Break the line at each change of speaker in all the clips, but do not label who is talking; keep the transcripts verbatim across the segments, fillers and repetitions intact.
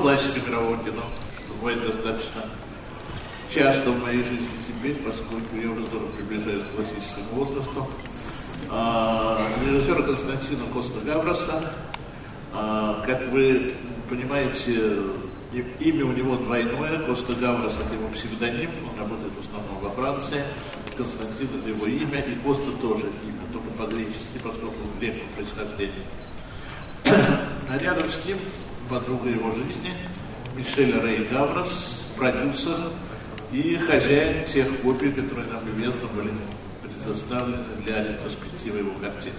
классика мирового кино, что бывает достаточно часто в моей жизни теперь, поскольку я уже здорово приближаюсь к классическому возрасту. А, режиссера Константина Коста-Гавроса. А, как вы понимаете, имя у него двойное. Коста-Гаврос — это его псевдоним, он работает в основном во Франции. Константин — это его имя, и Коста тоже имя, только по-гречески, поскольку он древнего происхождения. А рядом с ним подруга его жизни Мишель Рэй Гаврос, продюсер и хозяин тех копий, которые нам любезно были предоставлены для ретроспективы его картин.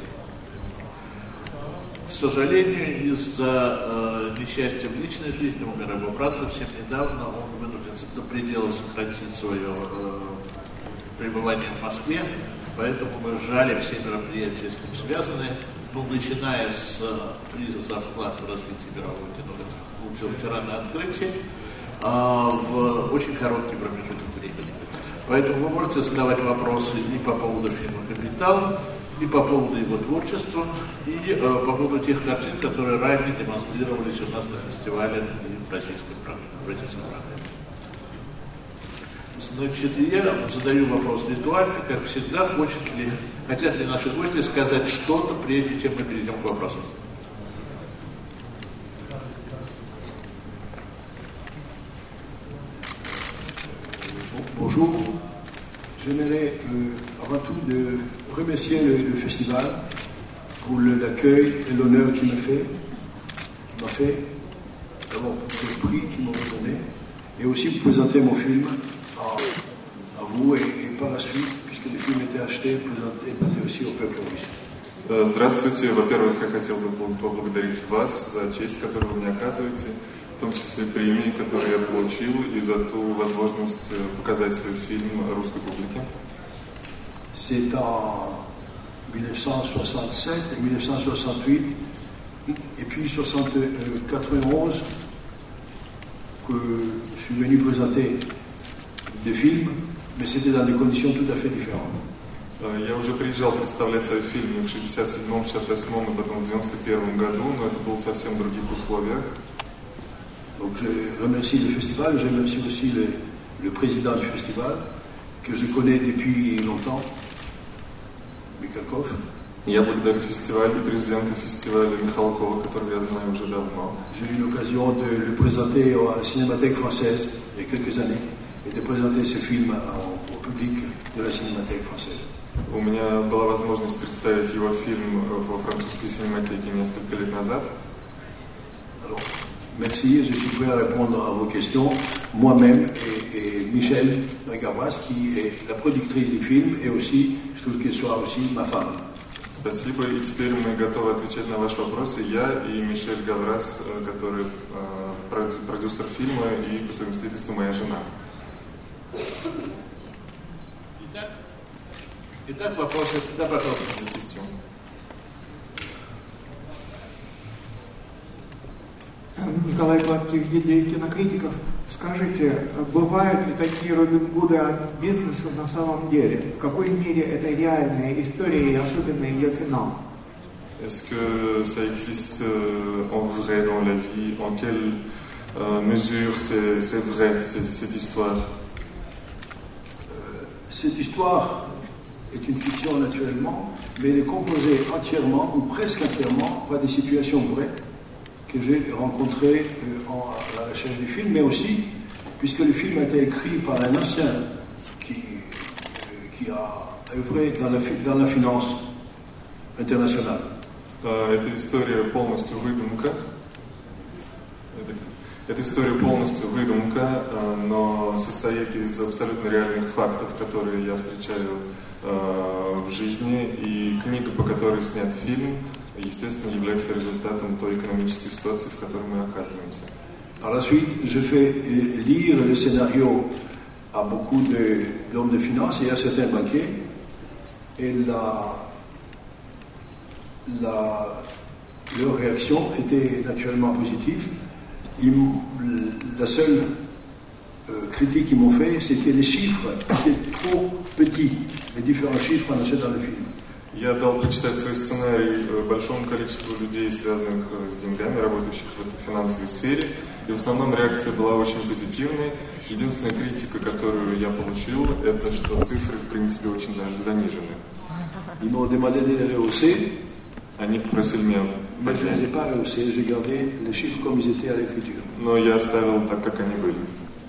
К сожалению, из-за э, несчастья в личной жизни умер его брат совсем недавно. Он вынужден до предела сократить свое э, пребывание в Москве, поэтому мы сжали все мероприятия с ним связанные, ну, начиная с э, приза за вклад в развитие мирового кино, который получил вчера на открытии, э, в очень короткий промежуток времени. Поэтому вы можете задавать вопросы и по поводу фильма «Капитал», и по поводу его творчества, и э, по поводу тех картин, которые ранее демонстрировались у нас на фестивале и в российской программе. Значит, я задаю вопрос ритуально, как всегда, хочет ли, хотят ли наши гости сказать что-то, прежде чем мы перейдем к вопросам.
Bonjour. J'aimerais euh, avant tout de remercier le, le festival pour le, l'accueil et l'honneur qu'il m'a fait, qu'il m'a fait, d'abord pour le prix qu'ils m'ont donné, et aussi pour présenter mon film à, à vous et, et par la suite, puisque le film était acheté, présenter, présenter aussi au peuple russe.
Здравствуйте. Во-первых, я хотел бы поблагодарить вас за честь, которую вы мне оказываете, в том числе премии, которые я получил, и за ту возможность показать свой фильм русской публике.
C'est en dix-neuf cent soixante-sept et dix-neuf cent soixante-huit et puis quatre-vingt-onze que je suis venu présenter des films, mais c'était dans des conditions tout à fait différentes.
Я уже приезжал представлять свои фильмы в шестьдесят седьмом, шестьдесят восьмом и потом в девяносто первом году, но это было совсем в других условиях.
Donc je remercie le festival, je remercie aussi le, le président du festival, que je connais depuis longtemps, Mikhalkov.
Я благодарю фестиваль и президента фестиваля Михалкова, которого я знаю уже давно.
J'ai eu l'occasion de le présenter à la Cinémathèque française il y a quelques années et de présenter ce film au, au public de la Cinémathèque française.
У меня была возможность представить его фильм во французской синематеке несколько лет назад.
Alors, merci, je suis prêt à répondre à vos questions, moi-même et, et Michel Gavras, qui est la productrice du film, et aussi, je trouve qu'elle soit aussi ma femme.
Спасибо, и теперь мы готовы отвечать на ваши вопросы. Я и Мишель Гаврас, который продюсер фильма и по совместительству моя жена.
Итак, Итак вопросы, да, пожалуйста, question.
Николай Гладких, гильдия кинокритиков. Скажите, бывают ли такие Робин Гуды от бизнеса на самом деле? В какой мере это реальная история и особенно ее финал?
Est-ce que ça existe euh, en vrai dans la vie? En quelle euh, mesure c'est, c'est vrai, c'est, cette histoire?
euh, Cette histoire est une fiction naturellement, mais elle est composée entièrement ou presque entièrement par des situations vraies que j'ai rencontrées euh, en, à la recherche du film, mais aussi, puisque le film a été écrit par un ancien qui, euh, qui a œuvré dans la, dans la finance internationale.
Эта история полностью выдумка. Эта история полностью выдумка, но состоит из абсолютно реальных фактов, которые я встречаю в жизни. И книга, по которой снят фильм, естественно, является результатом той экономической ситуации, в которой мы оказываемся.
Par la suite, je fais lire le scénario à beaucoup de, d'hommes de finance et à certains banquiers. Et la, la, leur réaction était naturellement positive. Ils, la seule euh, critique qu'ils m'ont fait, c'est que les chiffres étaient trop petits, les différents chiffres annoncés dans le film.
Я дал почитать свой сценарий большому количеству людей, связанных с деньгами, работающих в этой финансовой сфере. И в основном реакция была очень позитивной. Единственная критика, которую я получил, это что цифры, в принципе, очень даже занижены. Они попросили меня поднять. Но я оставил так, как они были.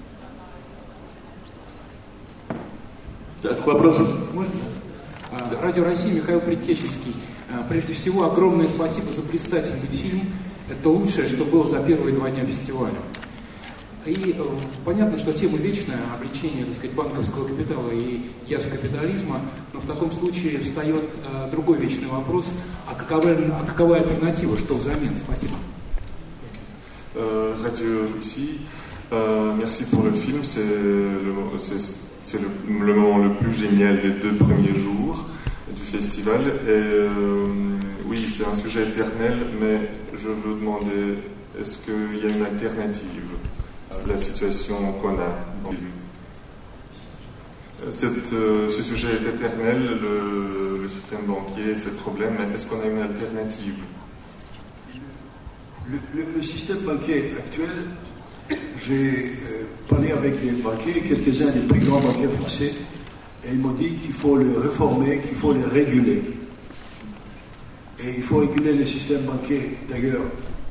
Так, вопросы?
Можно? Радио России, Михаил Предтеченский. Прежде всего, огромное спасибо за блистательный фильм. Это лучшее, что было за первые два дня фестиваля. И понятно, что тема вечная, обличение, так сказать, банковского капитала и язв капитализма, но в таком случае встает э, другой вечный вопрос, а какова, а какова альтернатива, что взамен? Спасибо.
Radio Russie, euh, merci pour le film, c'est le, c'est, c'est le, le moment le plus génial des deux premiers jours du festival. Et euh, oui, c'est un sujet éternel, mais je veux demander, est-ce qu'il y a une alternative à la situation qu'on a dans le film? Cette, euh, ce sujet est éternel, le, le système banquier, ses problèmes, mais est-ce qu'on a une alternative?
Le, le, le système banquier actuel, j'ai euh, parlé avec les banquiers, quelques-uns des plus grands banquiers français, et ils m'ont dit qu'il faut le réformer, qu'il faut le réguler. Et il faut réguler le système banquier, d'ailleurs.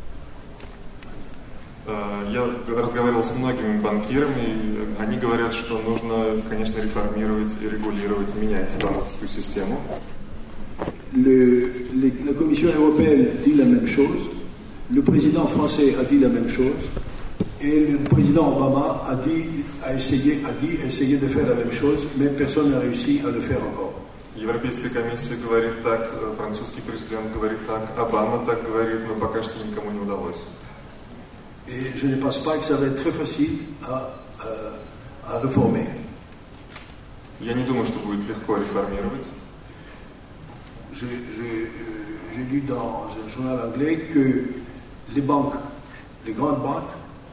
Я разговаривал с многими банкирами, они говорят, что нужно, конечно, реформировать и регулировать, менять банковскую систему.
Le, le, la Commission européenne dit la même chose, le président français a dit la même chose, et le président Obama a dit, a essayé, a dit essayer de faire la même chose, mais personne n'a réussi à le faire encore.
Европейская комиссия говорит так, французский президент говорит так, Обама так говорит, но пока что никому не удалось.
Et je ne pense pas que ça va être très facile à, à, à réformer.
Я не думаю, что будет легко реформировать.
J'ai, j'ai, j'ai lu dans un journal anglais que les banques, les grandes banques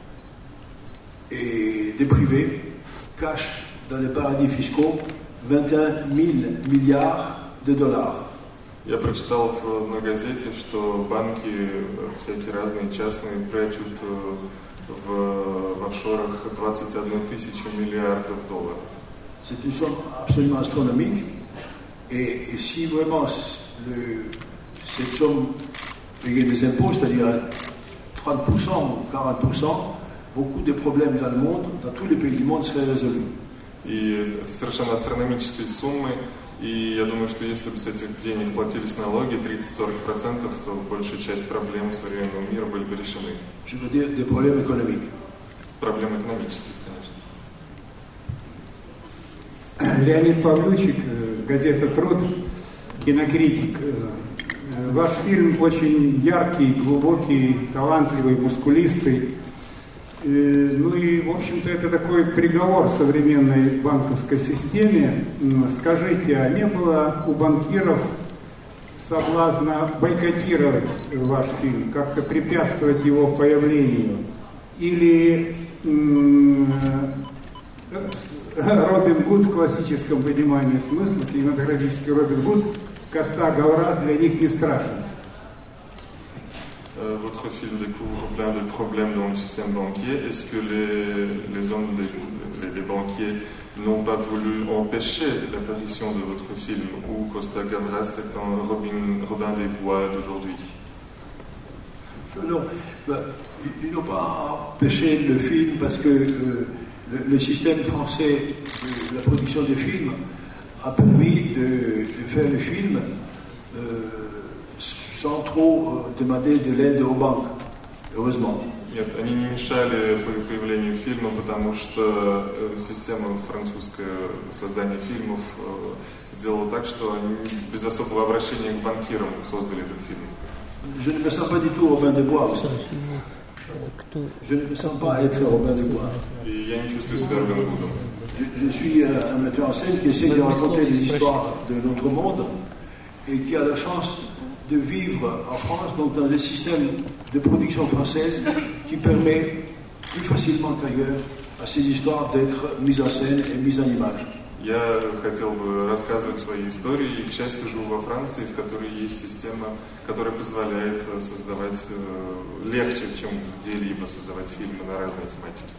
et des privés cachent dans les paradis fiscaux vingt et un mille milliards de dollars.
Я прочитал в одной газете, что банки всякие разные частные прячут в, в офшорах двадцать одну тысячу миллиардов долларов.
C'est une somme absolument astronomique. Et, et si vraiment le, cette somme payait des impôts, c'est-à-dire trente pour cent ou quarante pour cent, beaucoup de problèmes dans le monde, dans tous les pays du monde, seraient résolus.
И это совершенно астрономические суммы. И я думаю, что если бы с этих денег платились налоги тридцать-сорок процентов, то большая часть проблем современного мира были бы решены.
Je veux dire des problèmes économiques.
Проблемы экономические, конечно.
Леонид Павлючик, газета «Труд», кинокритик. Ваш фильм очень яркий, глубокий, талантливый, мускулистый. Ну и, в общем-то, это такой приговор современной банковской системе. Скажите, а не было у банкиров соблазна бойкотировать ваш фильм, как-то препятствовать его появлению? Или м- Робин Гуд в классическом понимании смысла, кинематографический Робин Гуд, Коста Гавраз для них не страшен?
Votre film découvre plein de problèmes dans le système banquier. Est-ce que les, les hommes, des, les, les banquiers n'ont pas voulu empêcher l'apparition de votre film, ou Costa Gavras est un Robin, Robin des Bois d'aujourd'hui?
Non, ben, ils n'ont pas empêché le film parce que euh, le, le système français de la production des films a permis de, de faire le film euh, sans trop demander de l'aide aux banques, heureusement.
Нет, они не мешали появлению фильма, потому что система французская создания фильмов сделала так, что они без особого обращения к банкирам создали этот фильм.
Je ne me sens pas du tout Robin des Bois. Je ne me sens pas être Robin des Bois.
И я не чувствую себя Робин Гудом.
Je, je suis un metteur en scène qui essaie de raconter des histoires de notre monde et qui a la chance de vivre en France, donc dans un système de production française qui permet plus facilement qu'ailleurs à ces histoires d'être mises en scène et mises en image.
Я хотел бы рассказывать свои истории, и, к счастью, живу во Франции, в которой есть система, которая позволяет создавать э, легче, чем где-либо создавать фильмы на разные тематики.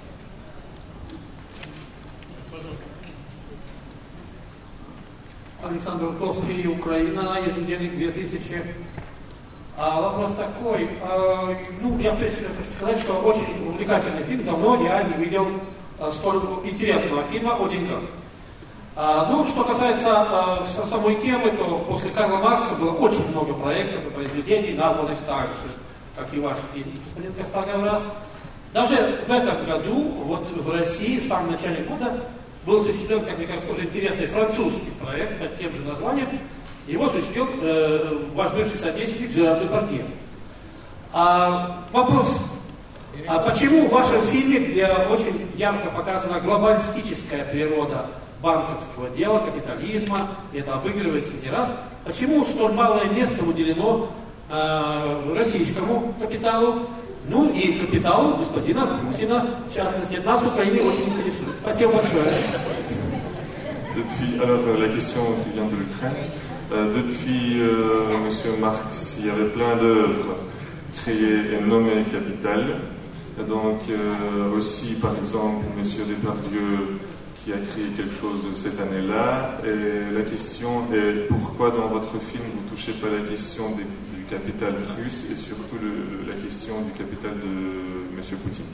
Александр Рудковский, Украина, еженедельник две тысячи. А вопрос такой, а, ну, я прежде хочу сказать, что очень увлекательный фильм, давно я не видел а, столь интересного фильма о деньгах. А, ну, что касается а, самой темы, то после Карла Маркса было очень много проектов и произведений, названных так же, как и ваш фильм, господин Костагаврас. Даже в этом году, вот в России, в самом начале года, был осуществлен, как мне кажется, тоже интересный французский проект под тем же названием. Его осуществил э, ваш бывший соотечественник Жерар Депардье. А, вопрос. А почему в вашем фильме, где очень ярко показана глобалистическая природа банковского дела, капитализма, и это обыгрывается не раз, почему столь малое место уделено э, российскому капиталу, ну и капиталу господина Путина, в частности, нас в Украине очень интересует. Спасибо большое.
Depuis, alors la question qui vient de l'Ukraine, euh, depuis euh, M. Marx, il y avait plein d'œuvres créées et nommées Capital. Donc euh, aussi, par exemple, M. Depardieu qui a créé quelque chose cette année-là. Et la question est pourquoi dans votre film vous ne touchez pas la question des, du capital russe et surtout le, la question du capital de M. Poutine.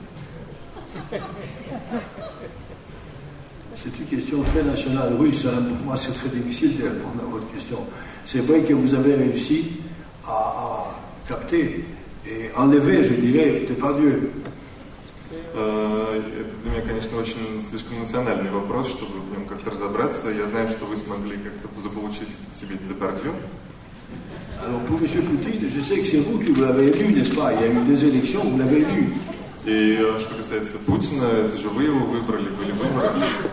C'est une question très nationale russe. Hein. Pour moi, c'est très difficile de répondre à votre question. C'est vrai que vous avez réussi à, à capter et enlever, je dirais, Depardieu.
Это для меня, конечно, очень слишком эмоциональный вопрос, чтобы в нем как-то разобраться. Я знаю, что вы смогли как-то заполучить себе Депардье.
Alors pour M. Poutine, je sais que c'est vous qui vous l'avez élu, n'est-ce pas? Il y a eu des élections, vous l'avez élu.
И что касается Путина, это же вы его выбрали, были выборы.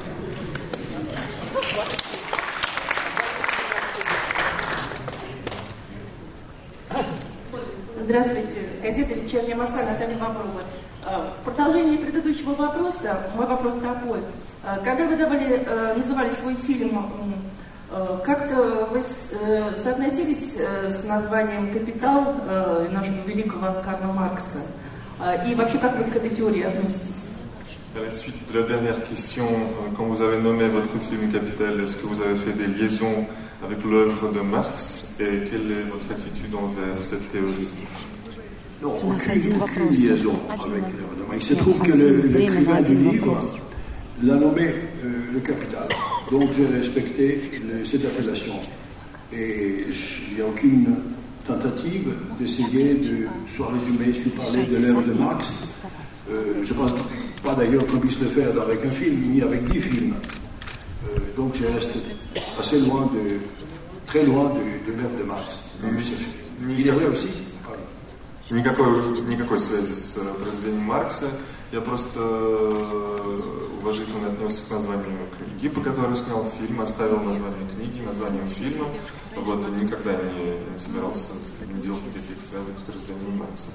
Здравствуйте. Газета «Вечерняя Москва», Наталья Боброва. В продолжении предыдущего вопроса, мой вопрос такой. Когда вы давали, называли свой фильм, как-то вы соотносились с названием «Капитал» нашего великого Карла Маркса? И вообще, как вы к этой теории относитесь?
À la suite de la dernière question, quand vous avez nommé votre film Capital, est-ce que vous avez fait des liaisons avec l'œuvre de Marx et quelle est votre attitude envers cette théorie?
Non, aucune, aucune liaison avec l'œuvre de Marx. Il se trouve que le, l'écrivain du livre l'a nommé euh, le Capital. Donc j'ai respecté le, cette appellation. Et il n'y a aucune tentative d'essayer de soit résumer, soit parler de l'œuvre de Marx. Euh, je ne pense pas d'ailleurs qu'on puisse le faire avec un film, ni avec dix films. Euh, donc je reste assez loin de, très loin de, de l'œuvre de Marx. Il est vrai aussi.
Никакой, никакой связи с произведением Маркса. Я просто уважительно отнесся к названию книги, по которой снял фильм, оставил название книги, названием фильма. Вот, и никогда не, не собирался, не делать никаких связок с произведением Маркса.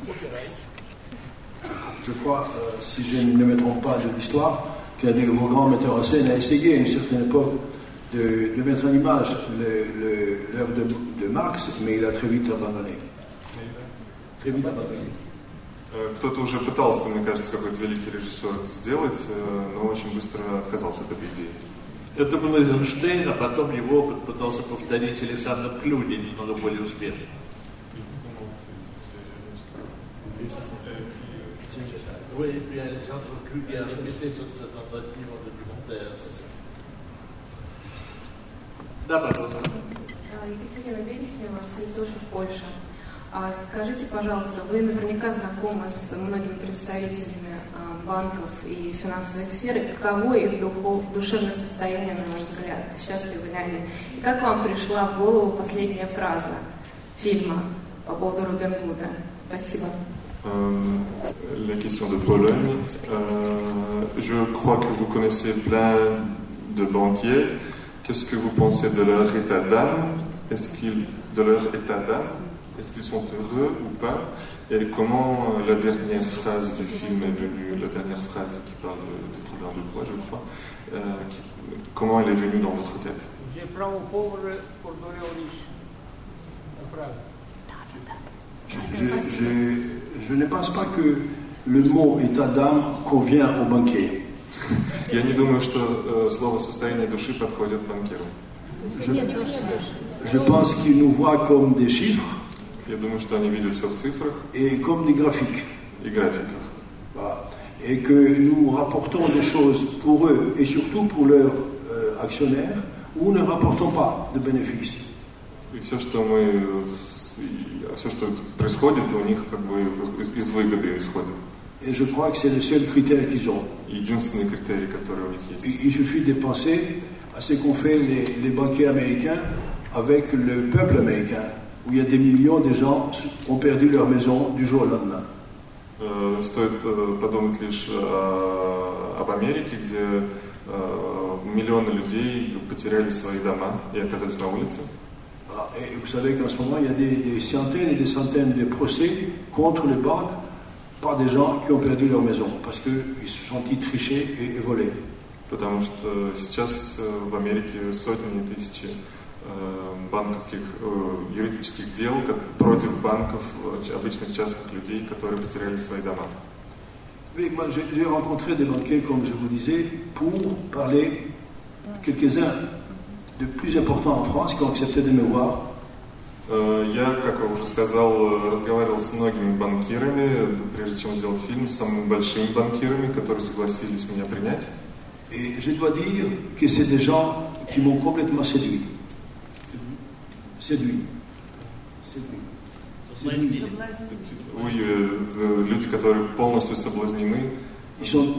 Je crois, euh, si je ne me trompe pas de l'histoire, qu'un de vos grands metteurs en scène a essayé à une certaine époque de, de mettre en image le, le, l'œuvre de, de Marx, mais il a très vite abandonné. Très vite abandonné.
Кто-то уже пытался, мне кажется, какой-то великий режиссер это сделать, но очень быстро отказался от этой идеи.
Это был Эйзенштейн, а потом его опыт пытался повторить Александр Клюди, немного более успешно. Oui, et puis Alexandre Kluge a répété sur cette tentative en documentaire, c'est ça. Да, пожалуйста.
Екатерина Береснева, Святош в Польше. А скажите, пожалуйста, вы наверняка знакомы с многими представителями банков и финансовой сферы. Каково их духов, душевное состояние, на ваш взгляд? Счастливы ли они? И как вам пришла в голову последняя фраза фильма по поводу Робин Гуда? Спасибо.
Euh, la question de Pologne. Euh, je crois que vous connaissez plein de banquiers. Qu'est-ce que vous pensez de leur état d'âme? Est-ce qu'ils, de leur état d'âme? est-ce qu'ils sont heureux ou pas, et comment la dernière phrase du film est venue, la dernière phrase qui parle de Trudor de Bois, je crois, euh, qui, comment elle est venue dans votre tête?
J'ai право повара Кордорио Риш.
Je, je, je ne pense pas que le mot état d'âme convient au banquier.
Я не думаю, что э, слово «состояние души» подходит банкиру.
Je, je pense qu'ils nous voient comme des chiffres.
Я думаю, что они видят все в цифрах
et comme des graphiques.
И графиках.
Voilà. Et que nous rapportons des choses pour eux et surtout pour leurs euh, actionnaires où ne rapportons pas de bénéfices.
И все, что мы, все, что происходит, у них как бы из выгоды исходит.
Et je crois que c'est le seul critère qu'ils ont.
Единственный критерий, который у них есть.
Il, il suffit de penser à ce qu'ont fait les, les banquiers américains avec le peuple américain, où il y a des millions de gens qui ont perdu leur maison du jour au lendemain.
Euh, стоит euh, подумать лишь э, об Америке, где э, миллионы людей потеряли свои дома и оказались на улице.
Et vous savez qu'en ce moment, il y a des, des centaines et des centaines de procès contre les banques par des gens qui ont perdu leur maison parce qu'ils se sont sentis trichés et, et volés.
Потому что сейчас в Америке сотни и тысячи банковских, юридических дел против банков, обычных частных людей, которые потеряли свои дома.
Mais moi, j'ai, j'ai rencontré des banquiers, comme je vous disais, pour parler quelques-uns de plus importants en France qui ont accepté de me voir.
Я, как я уже сказал, разговаривал с многими банкирами, прежде чем сделать фильм, с самыми большими банкирами, которые согласились меня принять.
Et je dois dire que c'est des gens qui m'ont complètement séduit. Séduit. Séduit. Séduit.
Oui, люди, которые полностью соблазнены.
Ils sont,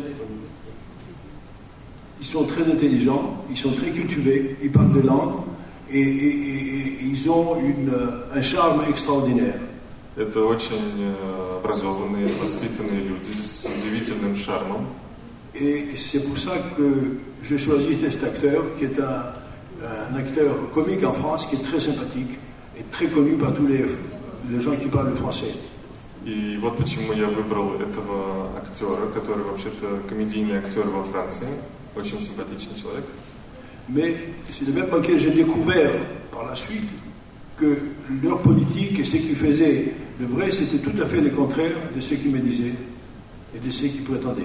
ils sont très intelligents, ils sont très cultivés, ils parlent de langues et, et, et, et ils ont une, un charme extraordinaire.
Это очень образованные, воспитанные люди с удивительным шармом.
Et c'est pour ça que j'ai choisi cet acteur, qui est un, un acteur comique en France, qui est très sympathique et très connu par tous les, les gens qui parlent le français.
И вот почему я выбрал этого актера, который вообще-то комедийный актер во Франции, очень симпатичный человек.
Mais c'est le même banquier que j'ai découvert par la suite que leur politique et ce qu'ils faisaient de vrai, c'était tout à fait le contraire de ce qu'ils me disaient et de ce qu'ils prétendaient.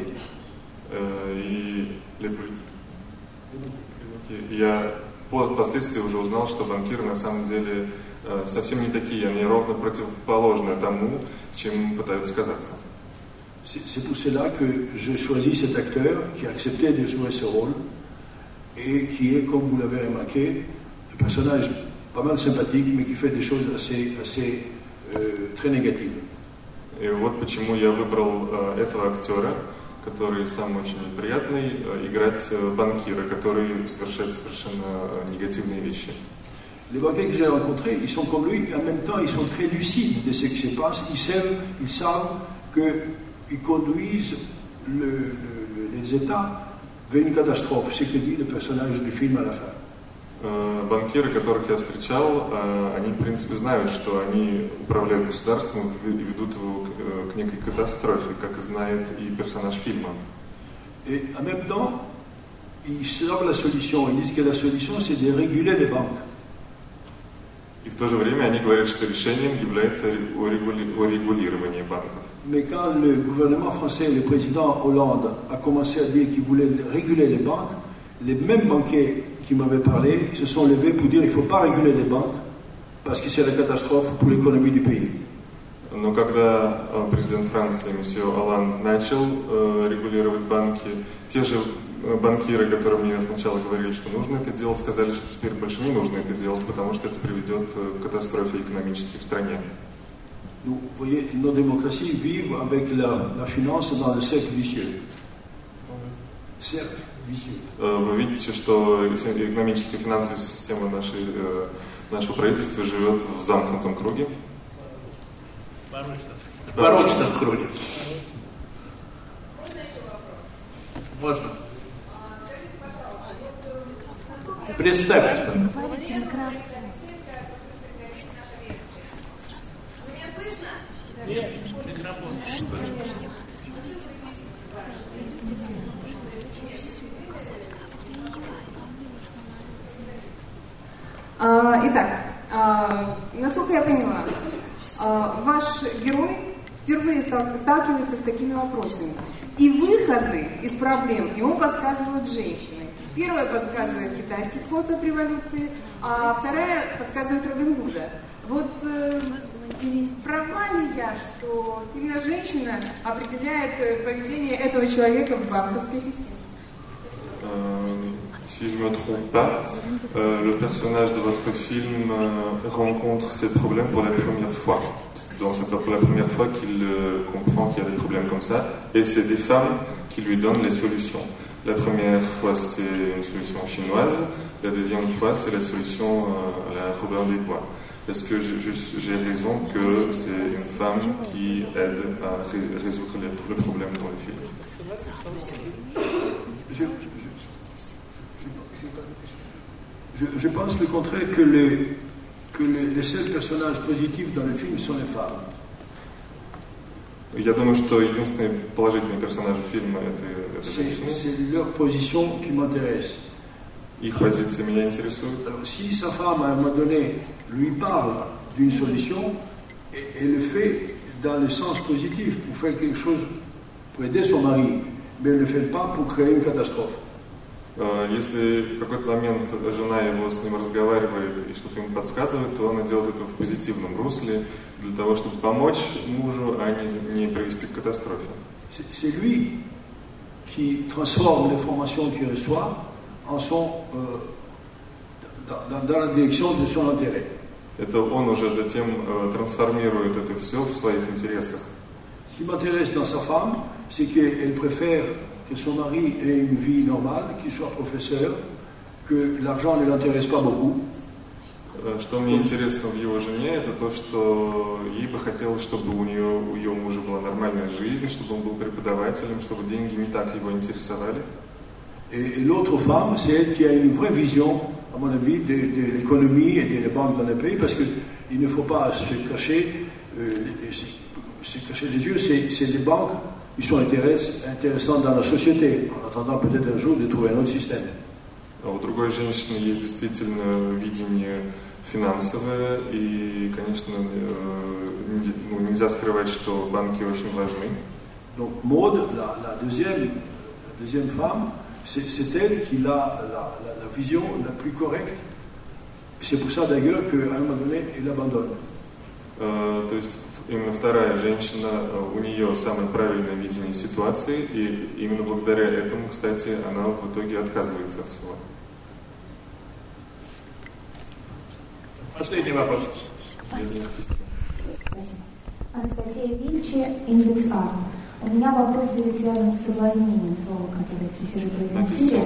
И я впоследствии уже узнал, что банкиры на самом деле совсем не такие, они ровно противоположны тому, чем пытаются казаться.
C'est pour cela que j'ai choisi cet acteur qui a accepté de jouer ce rôle et qui est, comme vous l'avez remarqué, un personnage pas mal sympathique, mais qui fait des choses assez, assez euh, très négatives.
И вот почему я выбрал э, этого актера, который сам очень неприятный, э, играть э, банкира, который совершает совершенно э, негативные вещи.
Les banquiers que j'ai rencontrés, ils sont comme lui, et en même temps, ils sont très lucides de ce qui se passe. Ils savent, ils savent qu'ils conduisent le, le, les États vers une catastrophe, ce que dit le personnage du film à la fin.
Банкиры, которых я встречал, они, в принципе, знают, что они управляют государством и ведут его к некой катастрофе, как и знает и персонаж фильма.
Et en même temps, ils savent la solution. Ils disent que la solution, c'est de réguler les banques.
И в то же время они говорят, что решением является урегулирование банков.
Mais quand le gouvernement français, le président Hollande, a commencé à dire qu'il voulait réguler les banques, les mêmes banquiers qui m'avaient parlé se sont levés pour dire qu'il ne faut pas réguler les banques parce que c'est la catastrophe pour l'économie du pays.
Но когда президент Франции, месье Олланд, начал э, регулировать банки, те же банкиры, которые мне сначала говорили, что нужно это делать, сказали, что теперь больше не нужно это делать, потому что это приведет к катастрофе экономической в стране.
Vous voyez, nos démocraties vivent avec la, la finance dans le cercle vicieux. Cercle vicieux.
Вы видите, что экономическая и финансовая система нашей, нашего правительства живет в замкнутом круге.
В порочном круге. Можно? Представьте.
Итак, насколько я поняла, ваш герой впервые сталкивается с такими вопросами. И выходы из проблем ему подсказывают женщины. Первая подсказывает китайский способ революции, а вторая подсказывает Робин Гуда. Вот э, права ли я, что именно женщина определяет поведение этого человека в банковской системе?
Si je ne me trompe pas, euh, le personnage de votre film euh, rencontre ces problèmes pour la première fois. Donc c'est pour la première fois qu'il euh, comprend qu'il y a des problèmes comme ça, et c'est des femmes qui lui donnent les solutions. La première fois c'est une solution chinoise, la deuxième fois c'est la solution euh, à la Robert des Bois. Est-ce que j'ai, j'ai raison que c'est une femme qui aide à ré- résoudre les, le problème dans le film?
Je, je, je, je pense le contraire, que, les, que les, les seuls personnages positifs dans le film sont les femmes.
Я думаю, что единственные положительные персонажи фильма это, это женщины.
C'est leur position qui m'intéresse.
Их позиции меня интересуют.
Alors, si sa femme, à un moment donné, lui parle d'une solution, et, et le fait dans le sens positif, pour faire quelque chose, pour aider son mari, mais elle ne le fait pas pour créer une catastrophe.
Если в какой-то момент жена его с ним разговаривает и что-то ему подсказывает, то она делает это в позитивном русле, для того, чтобы помочь мужу, а не, не привести к катастрофе.
C'est, c'est lui qui transforme l'information qu'il reçoit en son, euh, dans, dans la direction de son intérêt.
Это он уже затем э, трансформирует это все в своих интересах.
Ce qui m'intéresse dans sa femme, c'est qu'elle préfère que son mari ait une vie normale, qu'il soit professeur, que l'argent ne l'intéresse pas beaucoup.
Что мне интересно в его жене, это то, что ей бы хотелось, чтобы у нее, у ее мужа была нормальная жизнь, чтобы он был преподавателем, чтобы деньги не так его интересовали.
Et, et l'autre femme, c'est elle qui a une vraie vision, à mon avis, de, de l'économie et des banques dans le pays, parce qu'il ne faut pas se cacher, euh, se, se cacher les yeux, c'est, c'est les banques qui sont intéressantes dans la société, en attendant peut-être un jour de trouver un autre système.
А у другой женщины есть действительно видение финансовое, и, конечно, ну, нельзя скрывать, что банки очень важны.
Donc Maud, la, la, deuxième, la deuxième femme, c'est, c'est elle qui a la, la, la vision la plus correcte. C'est pour ça d'ailleurs qu'à un moment donné, elle abandonne.
Uh, то есть именно вторая женщина, у нее самое правильное видение ситуации, и именно благодаря этому, кстати, она в итоге отказывается от всего.
Последний вопрос.
Спасибо. Анастасия Вильчи, индекс А. У меня вопрос будет связан с соблазнением, слова, которое здесь уже произносили.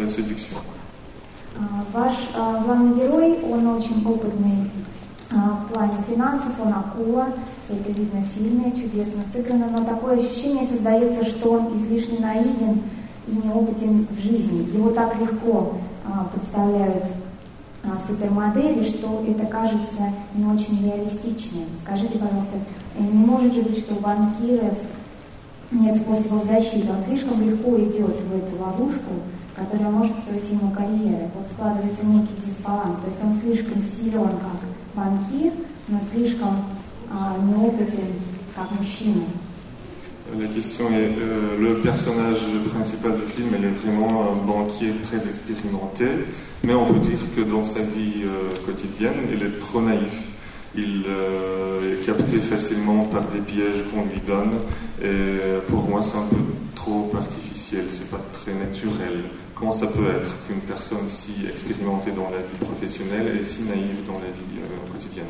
Ваш а, главный герой, он очень опытный а, в плане финансов, он акула, это видно в фильме, чудесно сыграно, но такое ощущение создается, что он излишне наивен и неопытен в жизни. Его так легко а, представляют а, супермодели, что это кажется не очень реалистичным. Скажите, пожалуйста, не может же быть, что у банкиров нет способов защиты, он слишком легко идет в эту ловушку, которая может стоить ему карьеры. Вот складывается некий дисбаланс, то есть он слишком силен как банкир, но слишком а, неопытен как мужчина.
La question est, euh, le personnage principal du film, il est vraiment un banquier très expérimenté, mais on peut dire que dans sa vie euh, quotidienne, il est trop naïf. Il euh, est capté facilement par des pièges qu'on lui donne, et pour moi c'est un peu trop artificiel, c'est pas très naturel. Comment ça peut être qu'une personne si expérimentée dans la vie professionnelle est si naïve dans la vie euh, quotidienne?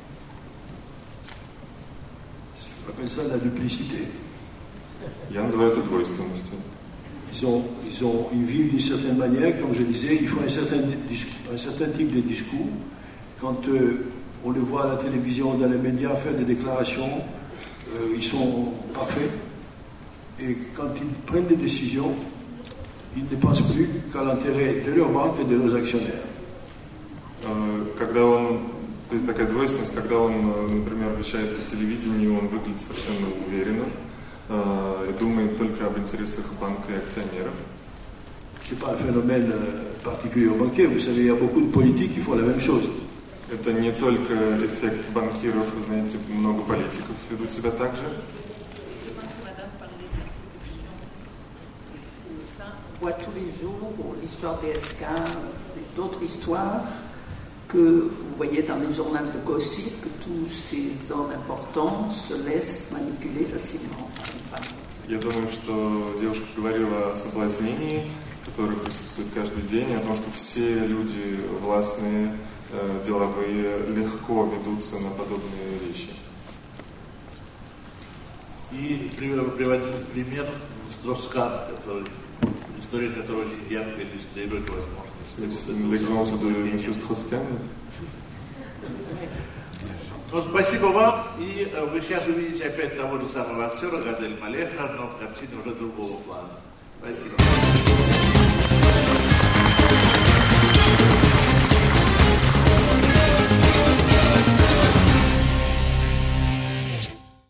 On appelle ça la duplicité.
Я называю это двойственностью.
Ils, ont, ils, ont, ils vivent d'une certaine manière, comme je disais, ils font un certain, un certain type de discours. Quand euh, on les voit à la télévision, dans les médias faire des déclarations, euh, ils sont parfaits. Et quand ils prennent des décisions, ils ne pensent plus qu'à l'intérêt de leur banque et de leurs actionnaires.
Когда он То есть такая двойственность, когда он, например, вещает по телевидению, он выглядит совершенно уверенно э, и думает только об интересах банка и акционеров.
C'est pas un phénomène particulier aux banquiers. Vous savez, il y a beaucoup de politiques qui font la même chose.
Это не только эффект банкиров, вы знаете, много политиков ведут себя так же.
On voit tous les jours l'histoire des S K et d'autres histoires que vous voyez dans les journaux de gossip, que tous ces hommes importants se laissent manipuler facilement.
Я думаю, что девушка говорила о соблазнении, которое присутствует каждый день, о том, что все люди властные, деловые, легко ведутся на подобные вещи.
И приводим пример Строскана, который, история которой очень ярко иллюстрирует возможность. Вот, спасибо вам, и вы сейчас увидите опять того же самого актера Гадель Малеха, но в картине уже другого плана. Спасибо.